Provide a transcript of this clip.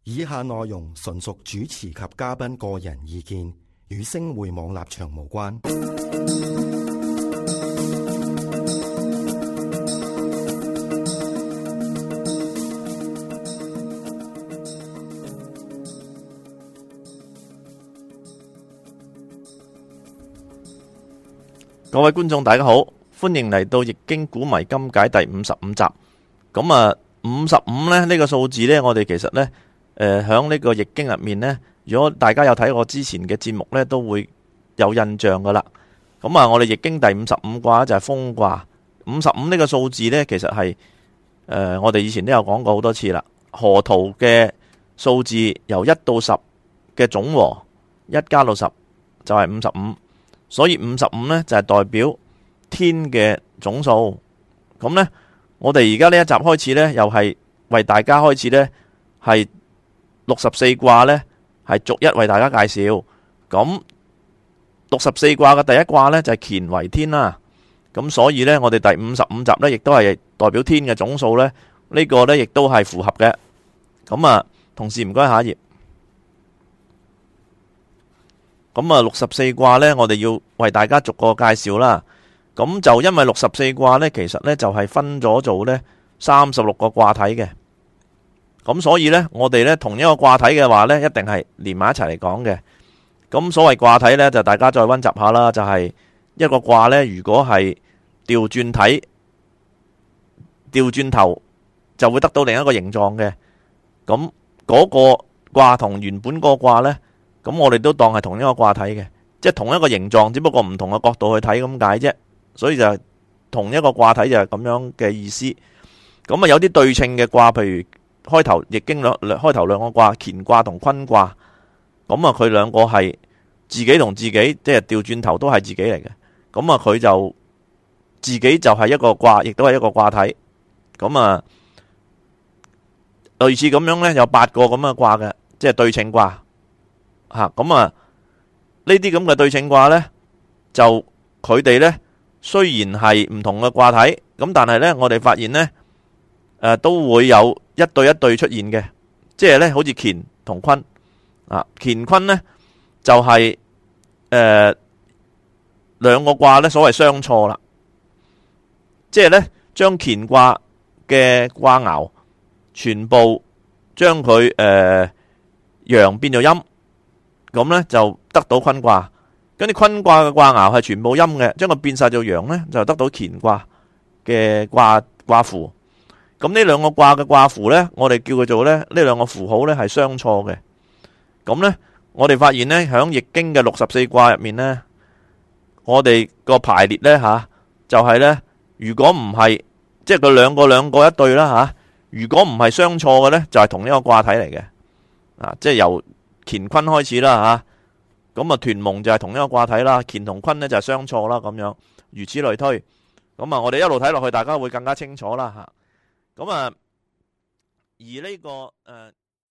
以下內容純屬主持及嘉賓個人意見，與星匯網立場無關。 各位觀眾大家好，歡迎嚟到《易經古謎今解》第55集。咁啊，55咧呢個數字呢，我哋其實呢，響呢個易經入面呢，如果大家有睇我之前嘅節目呢，都會有印象噶啦。咁啊，我哋易經第55卦就係豐卦。55呢個數字呢，其實係我哋以前都有講過好多次啦。河圖嘅數字由1到10嘅總和，1加到10就係55。所以55呢，就係代表天嘅總數。咁呢，我哋而家呢一集開始呢，又係為大家開始呢，係64卦呢，係逐一為大家介紹。咁64卦嘅第一卦呢，就係乾為天啦。咁所以呢，我哋第55集呢，亦都係代表天嘅總數呢。呢個呢，亦都係符合嘅。咁啊，同時唔該下一頁。咁啊，64卦呢，我哋要為大家逐個介紹啦。咁就因為64卦呢，其實呢就係分咗做呢36個卦體嘅。咁所以呢，我哋呢同一個卦體嘅話呢，一定係連埋一齊嚟講嘅。咁所謂卦體呢，就大家再溫習下啦。就係一個卦呢，如果係調轉體、調轉頭，就會得到另一個形狀嘅。咁嗰個卦同原本個卦呢，咁我哋都當係同一個卦體嘅，即係同一個形狀，只不過唔同嘅角度去睇咁解啫。所以就係同一個卦體就係咁樣嘅意思。咁啊，有啲對稱嘅卦，譬如開頭易經開頭兩個卦，乾卦同坤卦，咁啊佢兩個係自己同自己，即係調轉頭都係自己嚟嘅。咁啊佢就自己就係一個卦，亦都係一個卦體。咁啊類似咁樣呢，有8個咁嘅卦嘅，即係對稱卦。咁啊，呢啲咁嘅對稱卦呢，就佢哋呢，雖然係唔同嘅卦體，咁但係呢，我哋發現呢，都會有一對一對出現嘅，即係呢，好似乾同坤乾坤呢，就係兩個卦呢，所謂相錯啦，即係呢，將乾卦嘅卦爻全部將佢陽變做陰。咁呢就得到坤卦，跟住坤卦嘅卦爻係全部陰嘅，將佢變晒做陽呢，就得到乾卦嘅卦符。咁呢兩個卦嘅卦符呢，我哋叫佢做呢兩個符號呢係相錯嘅。咁呢，我哋發現呢，響易經嘅64卦入面呢，我哋個排列呢，就係呢，如果唔係即係佢兩個一對啦，如果唔係相錯嘅呢，就係同一個卦體嚟嘅。即係由乾坤開始啦，咁啊屯蒙就係同一個卦體啦，乾同坤呢就係相錯啦，咁樣如此類推。咁啊，我哋一路睇落去，大家會更加清楚啦，咁啊，而呢個